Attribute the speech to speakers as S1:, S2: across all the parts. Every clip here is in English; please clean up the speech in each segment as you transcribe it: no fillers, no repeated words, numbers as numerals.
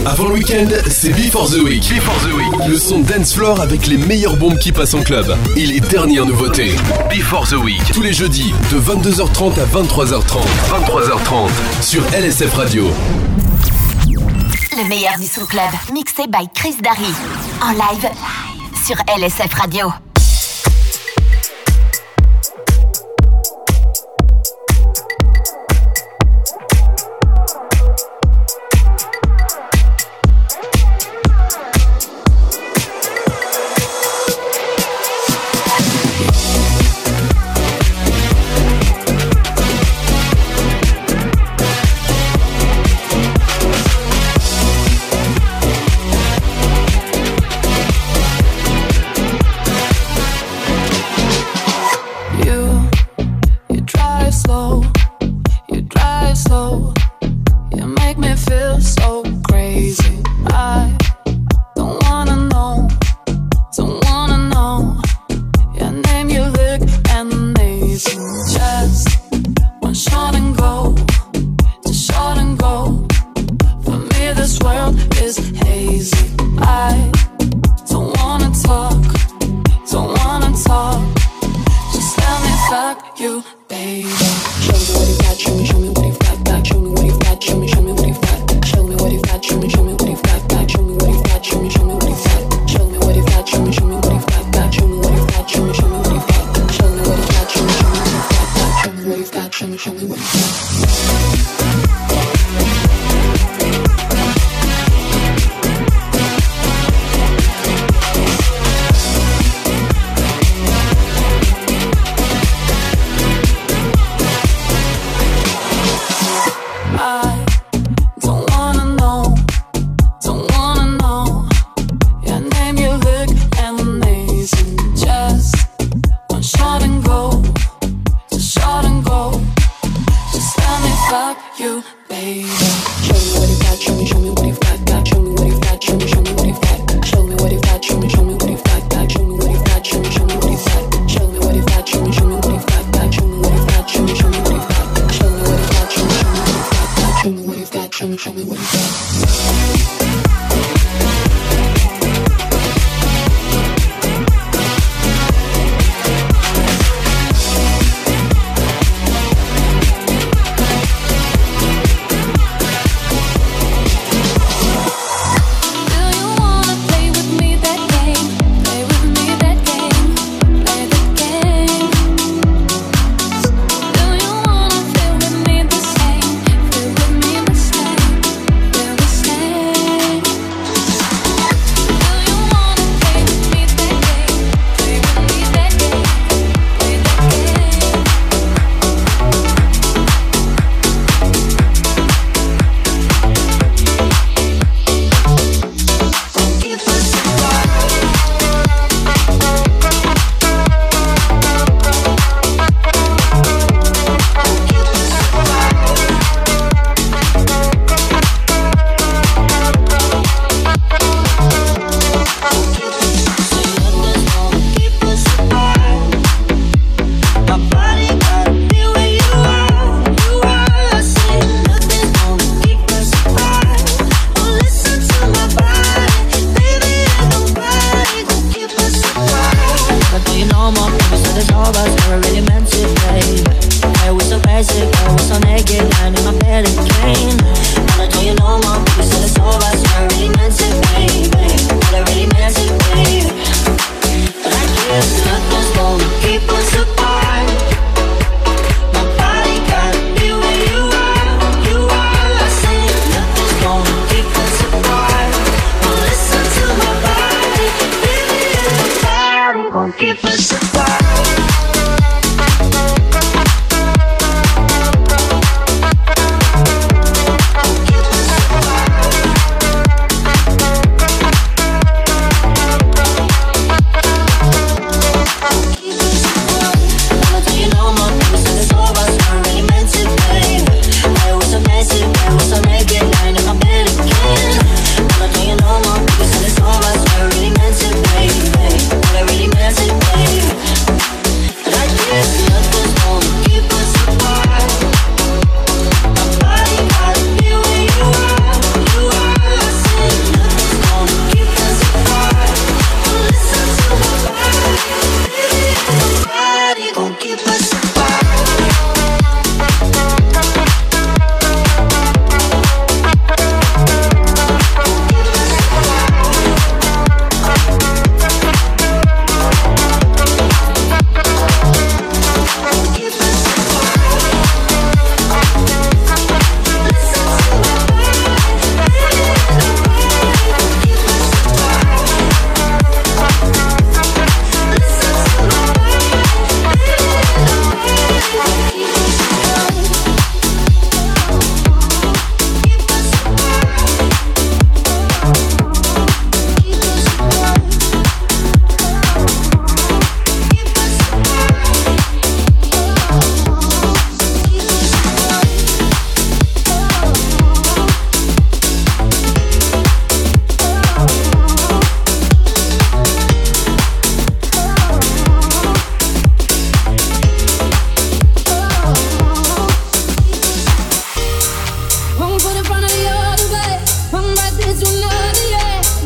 S1: Avant le week-end, c'est Before the Week. Before the Week. Le son dance floor avec les meilleures bombes qui passent en club. Et les dernières nouveautés. Before the Week. Tous les jeudis, de 22h30 à 23h30. 23h30 sur LSF Radio.
S2: Le meilleur du Soul Club, mixé by Chris Darry. En live sur LSF Radio.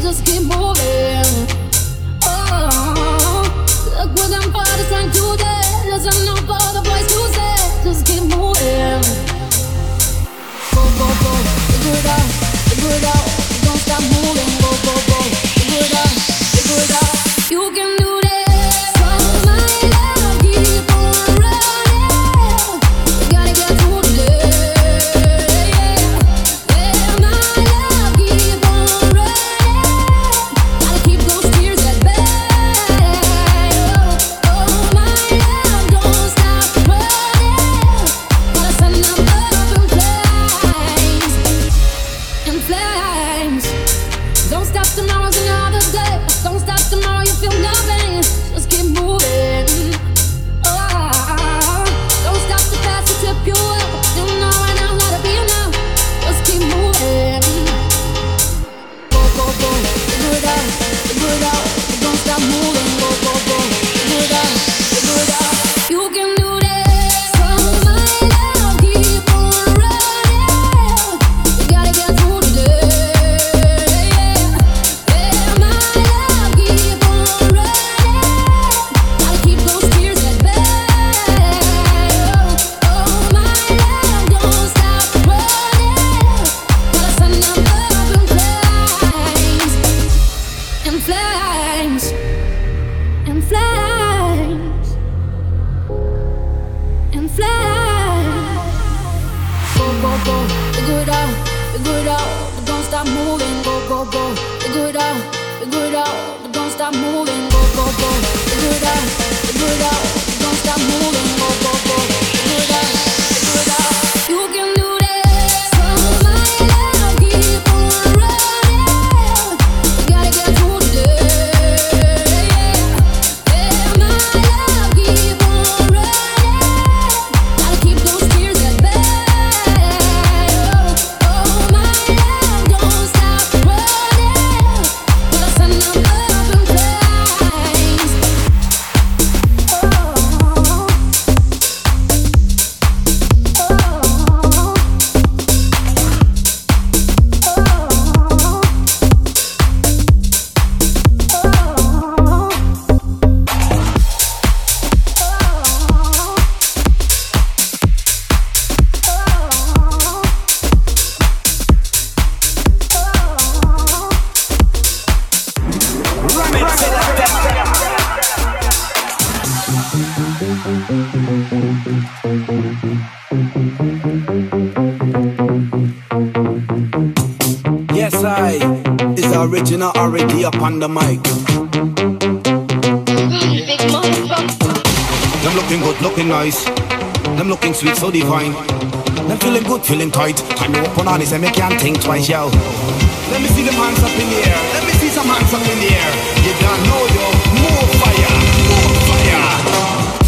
S3: just keep moving. Oh, look what them fathers trying to do. There's enough for the boys to say, just keep moving. Go, go, go, figure it out, don't stop moving. Go, go, go, figure it out, you can do this.
S4: Original already up on the mic. Them looking good, looking nice. Them looking sweet, so divine. Them feeling good, feeling tight. Time to open on this and me can't think twice, yo. Let me see them hands up in the air. Let me see some hands up in the air. You don't know, yo. More fire, more fire.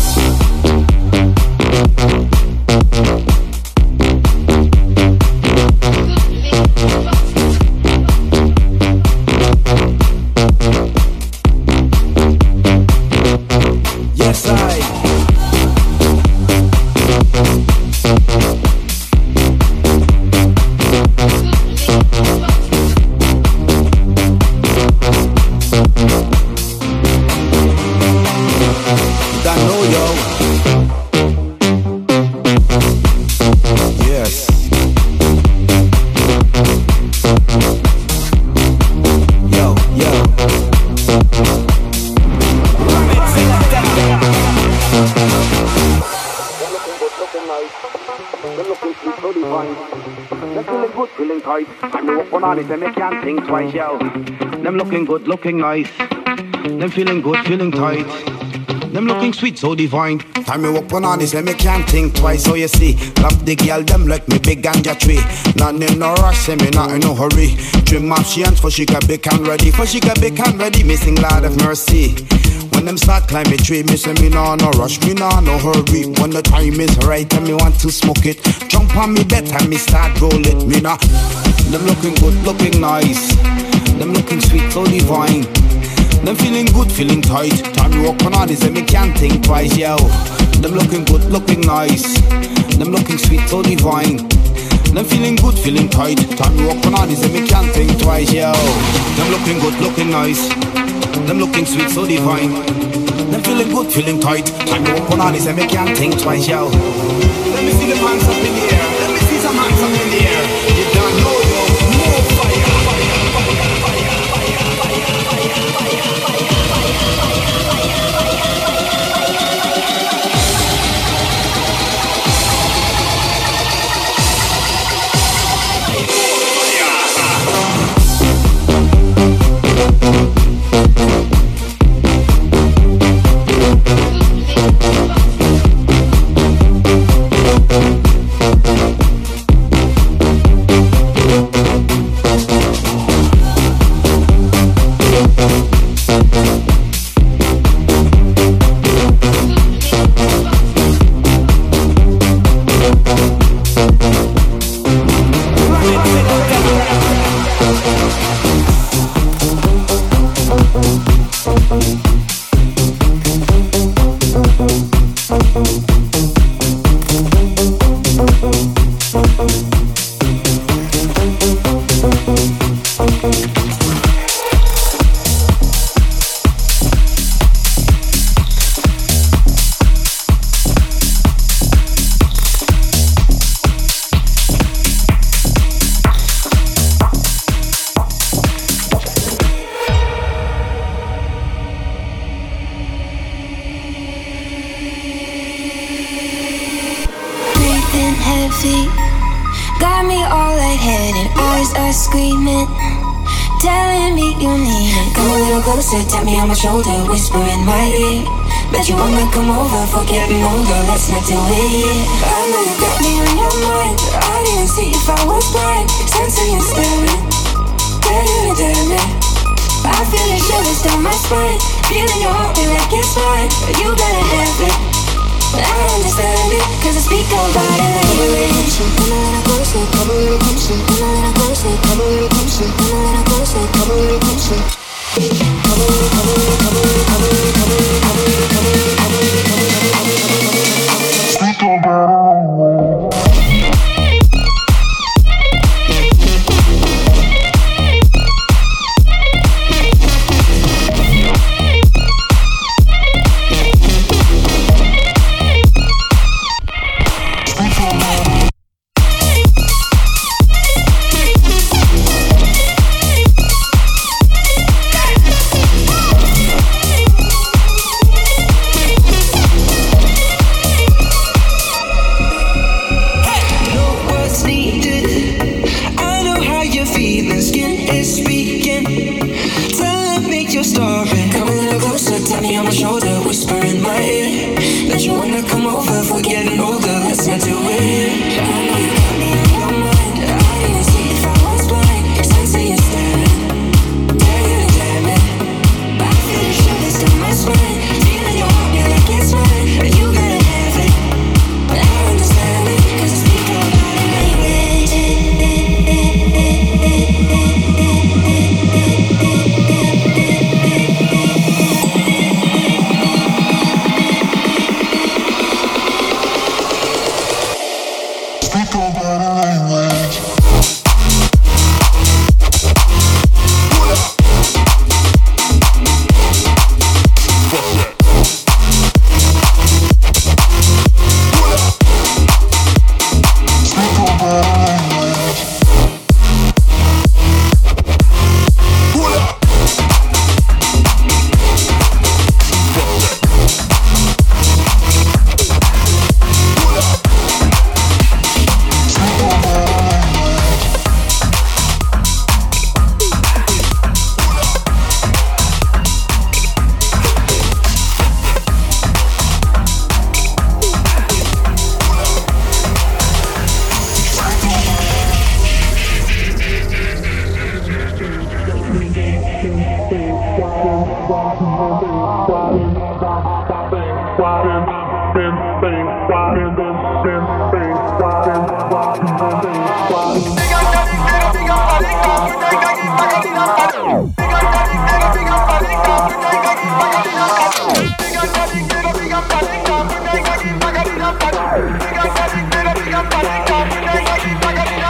S4: Them they can't think twice, yo. Them looking good, looking nice. Them feeling good, feeling tight. Them looking sweet, so divine. Time me walk on this, them me can't think twice. So you see, love the girl, them like me big ganja tree. None in no rush, say me not in no hurry. Dream of she hands for she got big and ready. For she got big and ready, missing Lord of mercy. When them start climbing tree, me say me no rush, me no hurry. When the time is right and me want to smoke it, jump on me bed and me start roll it. Me nah. Them looking good, looking nice. Them looking sweet, so divine. Them feeling good, feeling tight. Time to walk on this and me can't think twice, yo. Them looking good, looking nice. Them looking sweet, so divine. Them feeling good, feeling tight. Time me walk on all this and me can't think twice, yo. Them looking good, looking nice. Them looking sweet, so divine. Them feeling good, feeling tight. Time me walk on all this and me can't think twice, yo. Let me see the hands up in the air. Let me see some hands up in the air. You don't know, yo. More fire, fire, fire, fire, fire, fire, fire, fire, fire,
S5: tap me on my shoulder, whisper in my ear. Bet you wanna come over for getting older, let's not do it. I know you got me on your mind. I didn't see if I was blind. Sensing you staring, damn it. I feel the shivers down my spine. Feeling your heart feel like it's mine. You gotta have it, I understand it, cause I speak about it language. Come a little closer, come a little closer, come a little closer, come a little closer, come a little closer, come a little closer.
S6: Big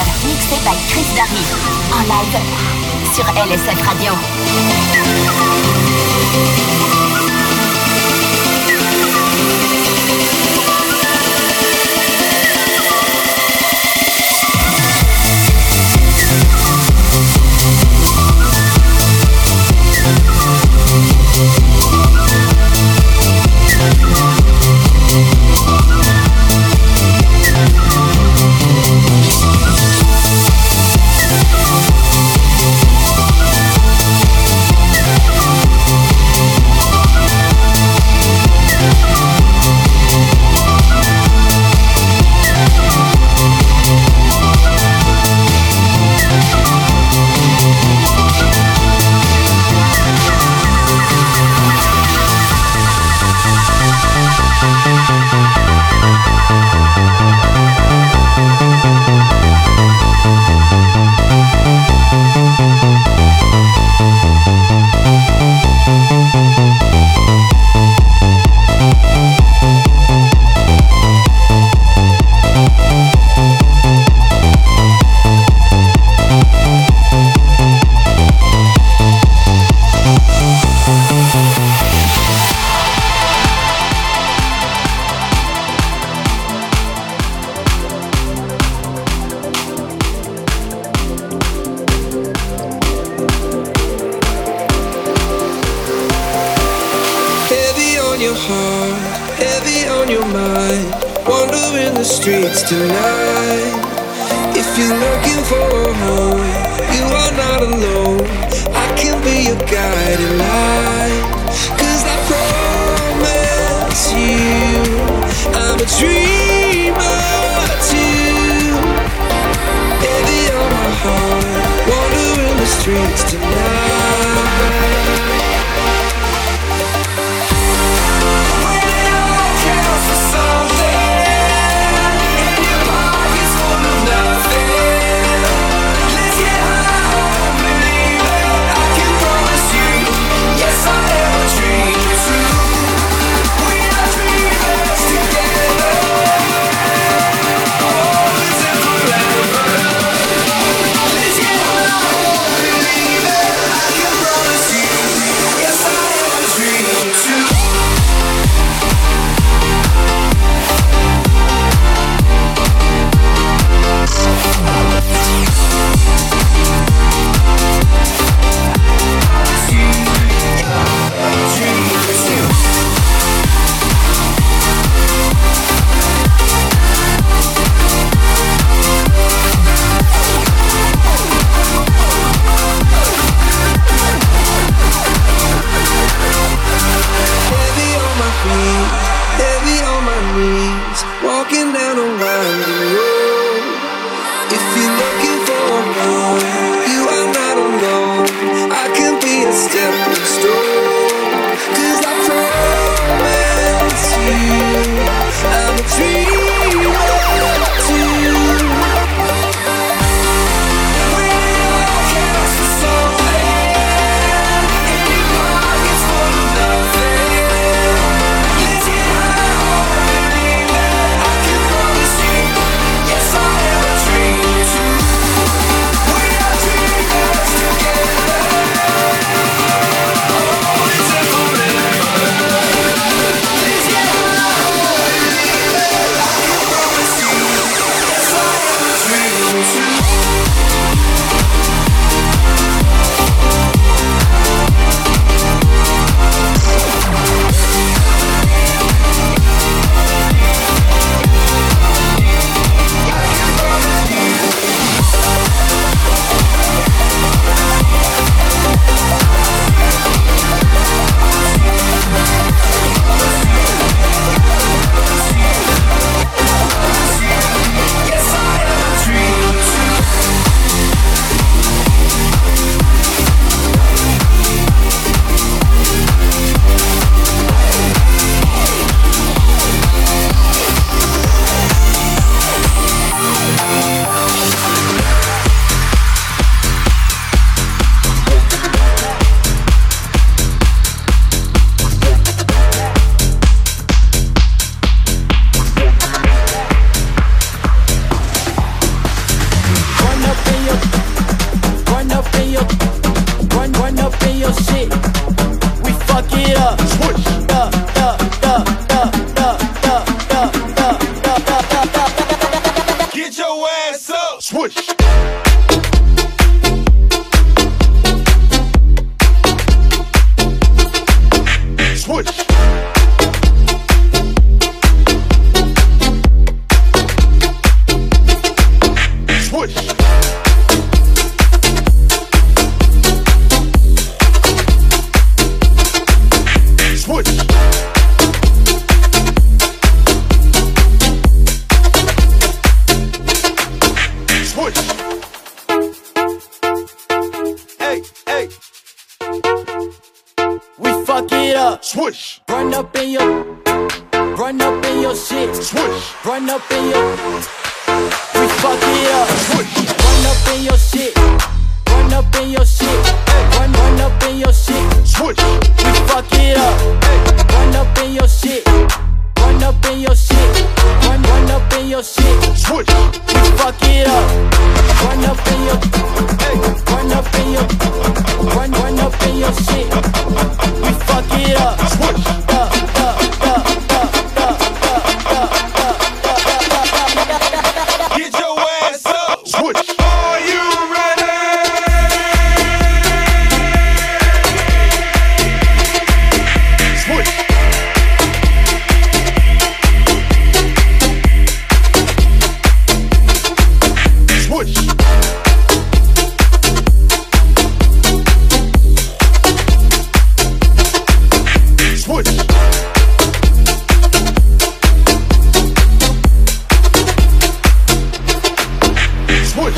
S2: Club, mixé by Chris Darry. En live sur LSF Radio.
S6: Let's get your ass up. Switch. Switch. Switch. Switch. Switch. Hey, hey.
S7: We fuck it up.
S6: Switch.
S7: Run up in your shit.
S6: Switch.
S7: Run up in your. We fuck it up.
S6: Switch.
S7: Run up in your shit. Run up in your shit. Run up in your shit.
S6: Switch.
S7: We fuck it up. Run up in your shit. Run up in your shit. Run up in your shit.
S6: Switch.
S7: We fuck it up. Run up in your. Run up in your. Run up in your shit. We fuck it up.
S6: Switch. Get your ass up. Switch. Are you ready? Switch. Switch. Switch. Switch.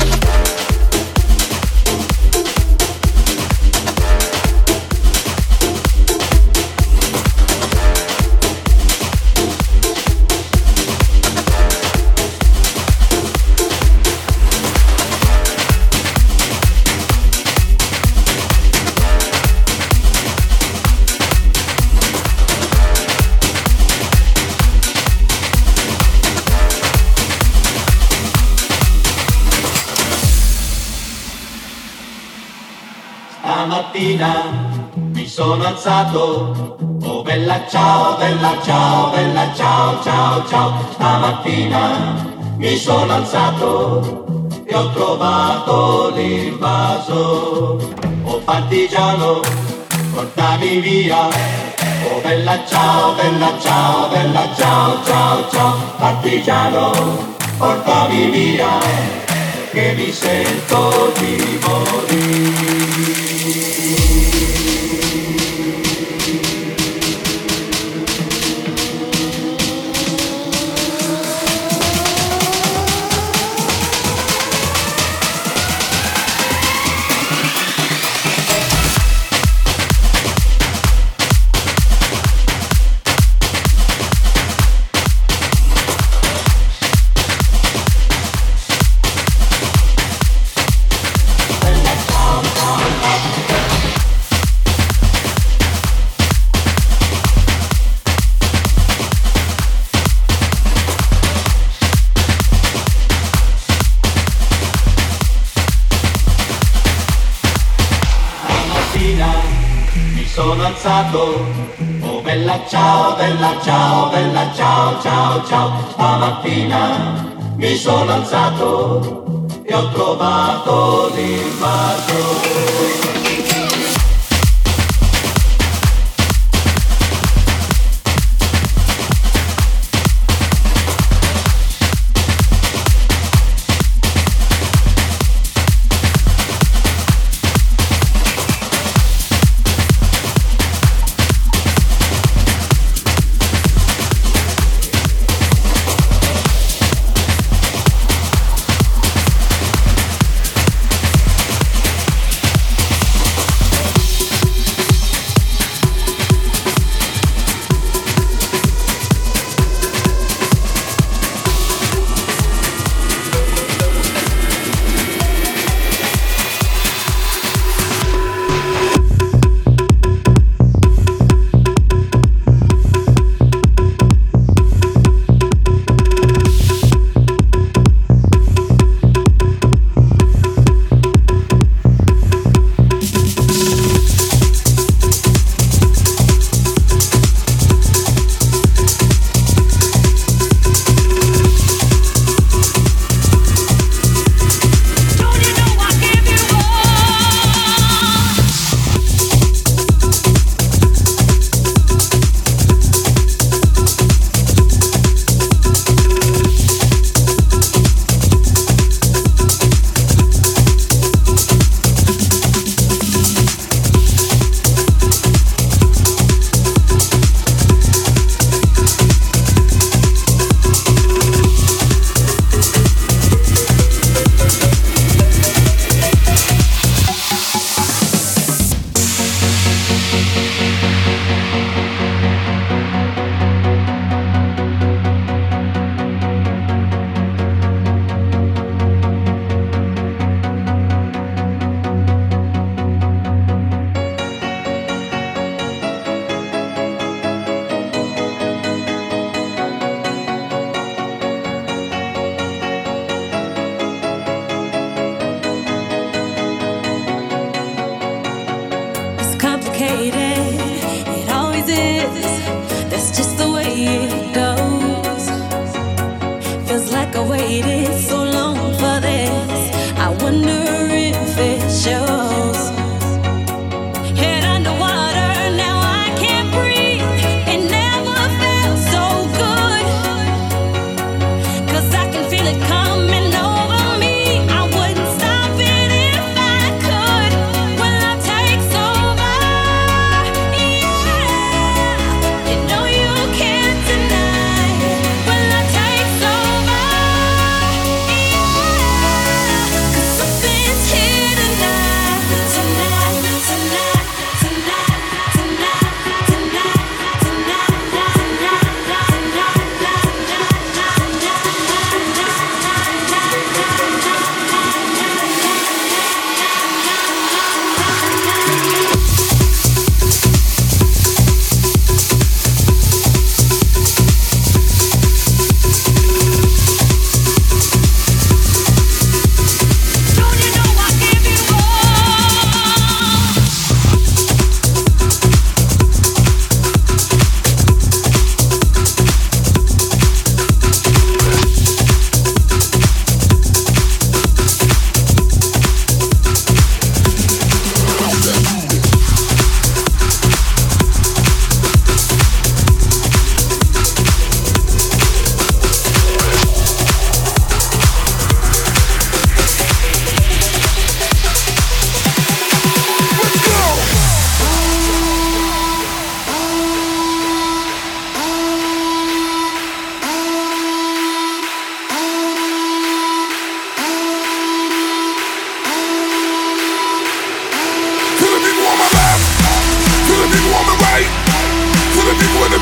S8: Stamattina mi sono alzato, oh bella ciao, bella ciao, bella ciao, ciao, ciao. Stamattina mi sono alzato e ho trovato l'invaso. Oh partigiano, portami via, oh bella ciao, bella ciao, bella ciao, ciao, ciao. Partigiano, portami via, che mi sento di morire. Sono alzato, oh bella ciao, bella ciao, bella ciao, ciao, ciao. Stamattina mi sono alzato e ho trovato l'invaso.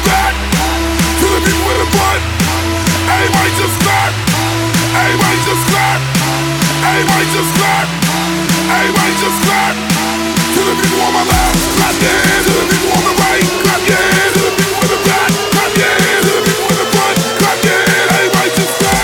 S6: back. To the people with the fun. Everybody just clap. Everybody just clap. Everybody just clap. Everybody just clap. To the people on my left, clap your hands. To the people on the right, clap your hands. To the people with the back, clap your hands. To the people with the front, clap your hands. Everybody just clap.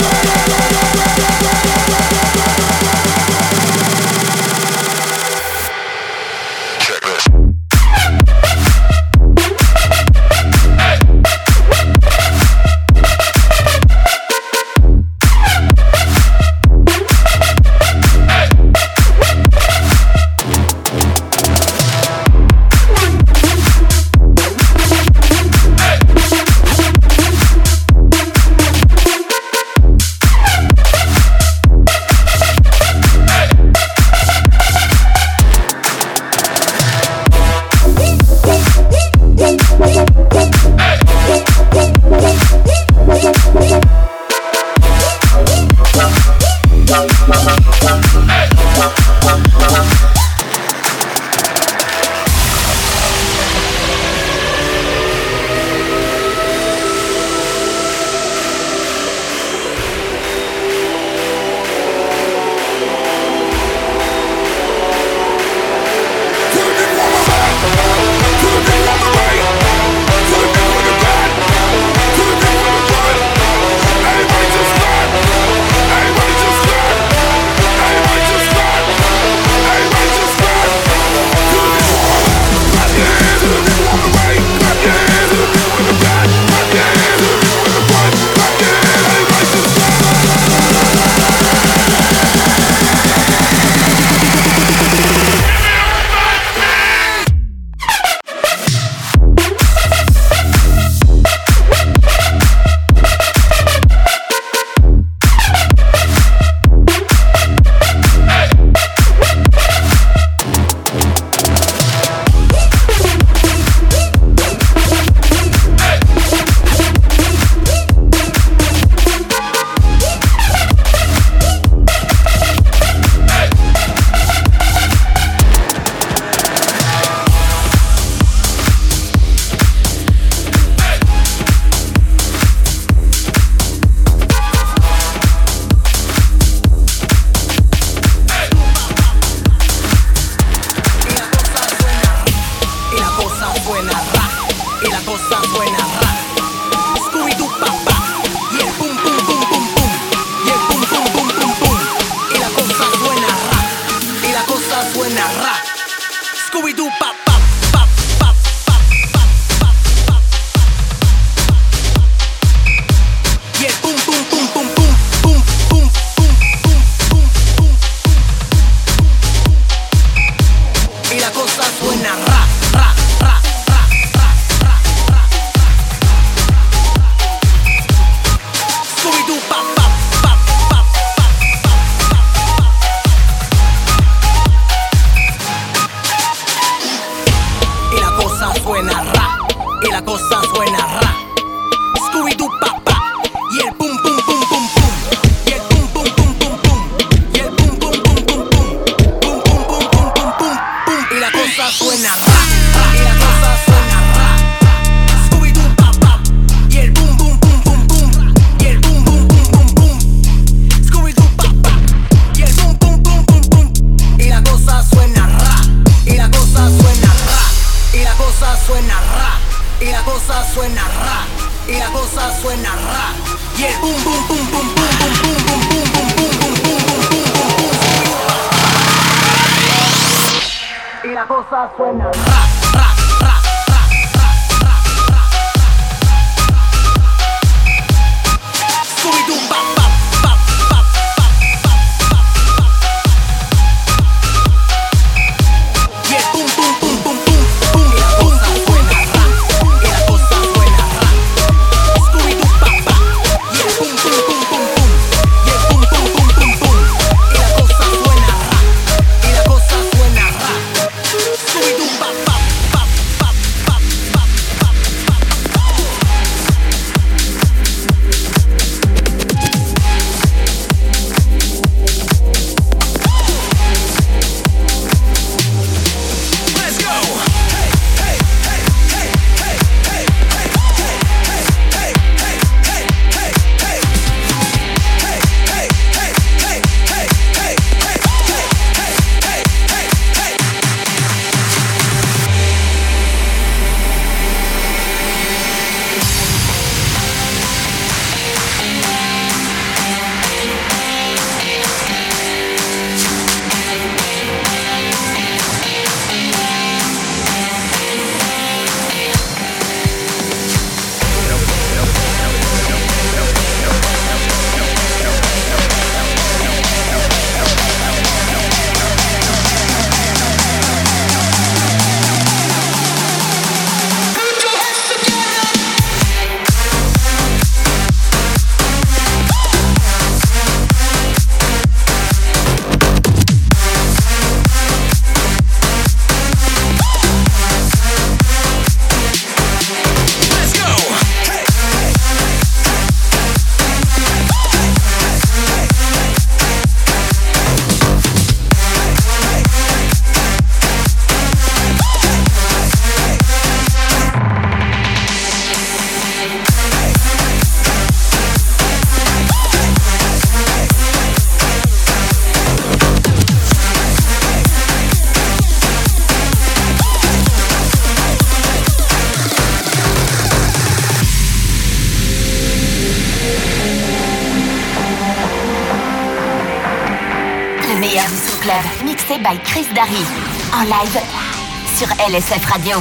S2: Le meilleur du Soul Club, mixé by Chris Darry. En live sur LSF Radio.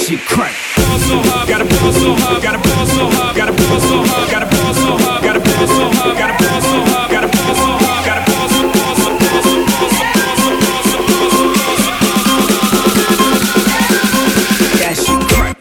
S9: shit crank. Ball so hard, gotta ball so hard, gotta ball so hard, gotta ball so hard, gotta ball so hard, gotta ball so hard, gotta ball so hard, gotta ball so hard, gotta ball so ball so ball so ball so ball so ball so ball so ball so. That shit crank.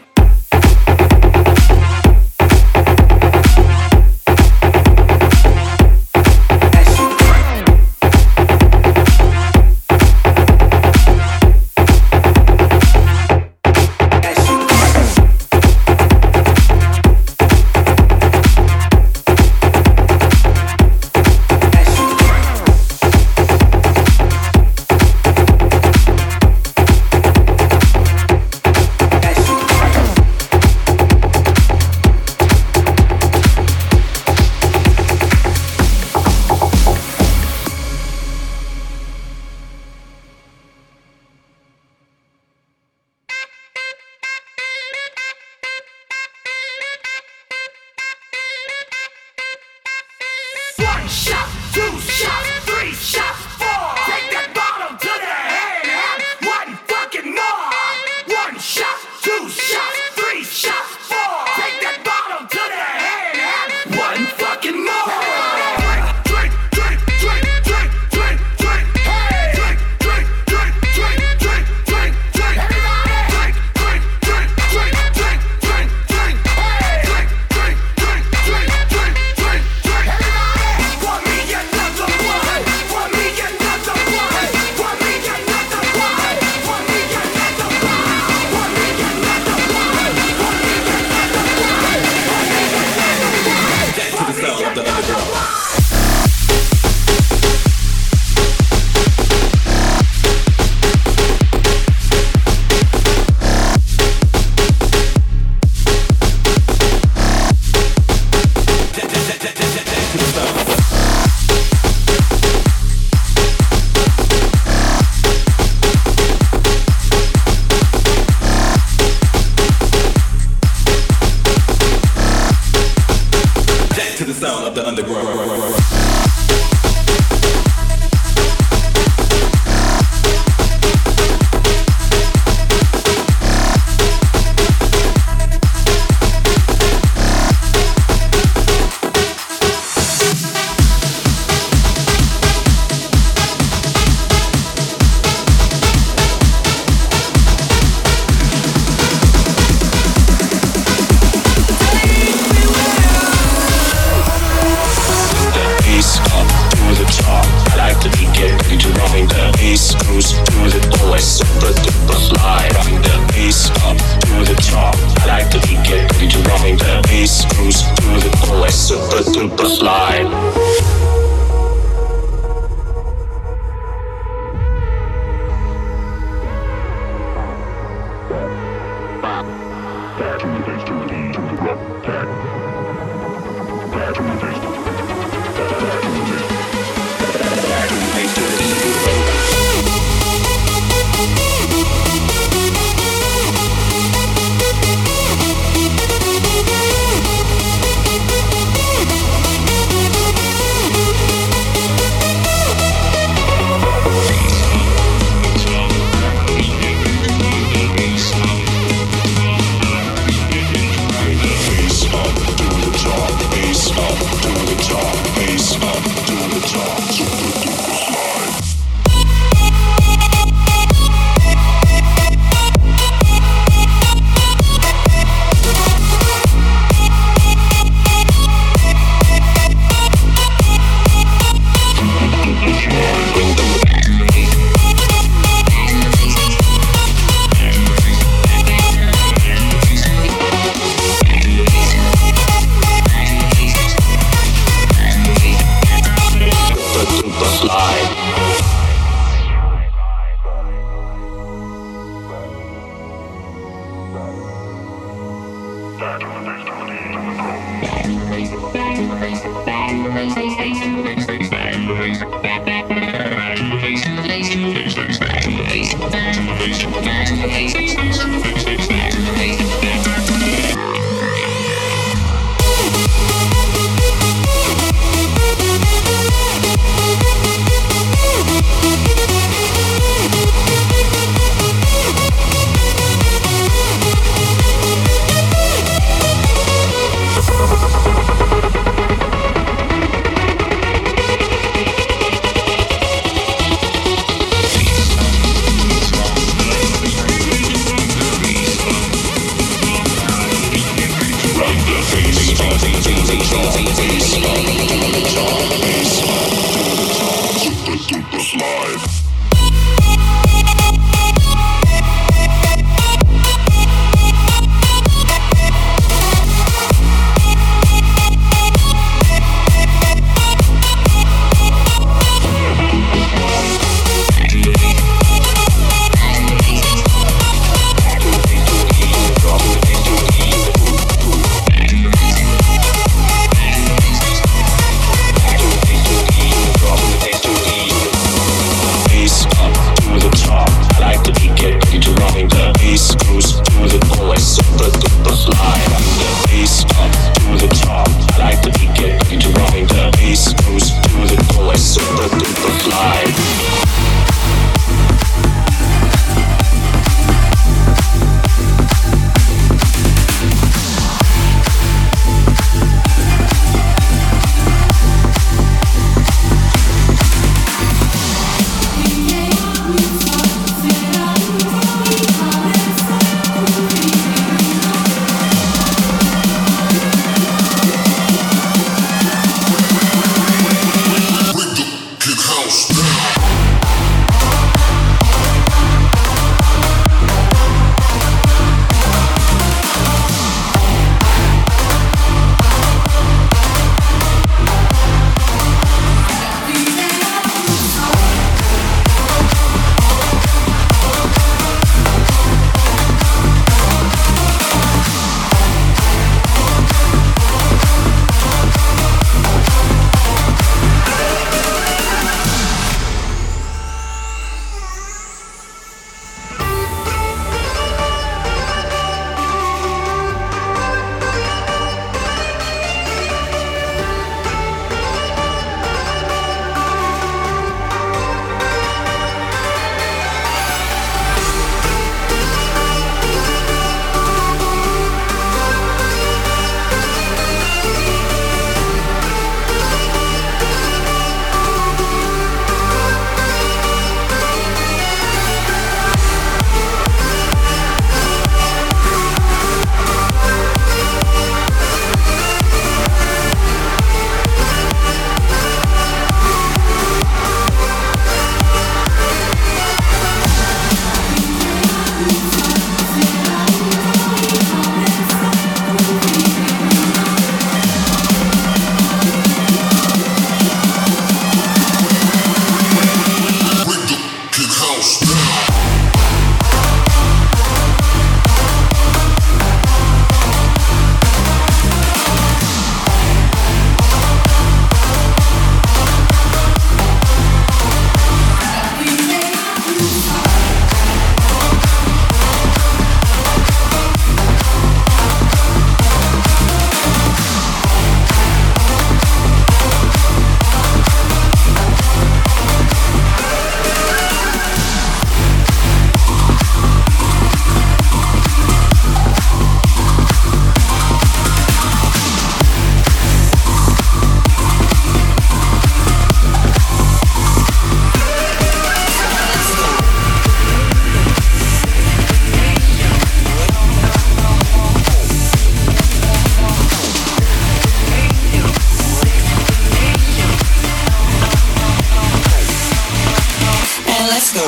S6: Bass up.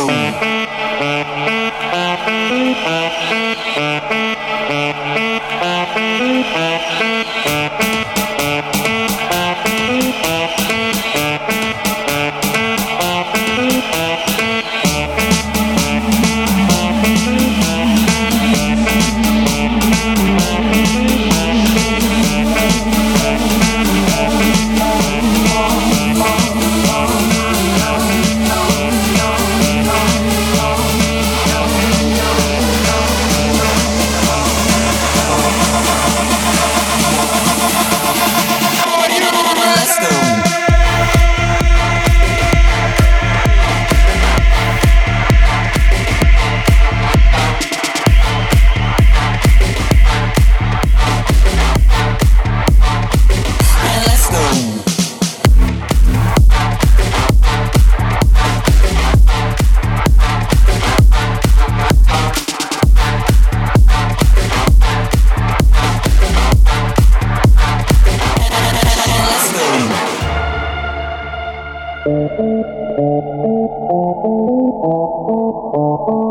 S5: Let's go.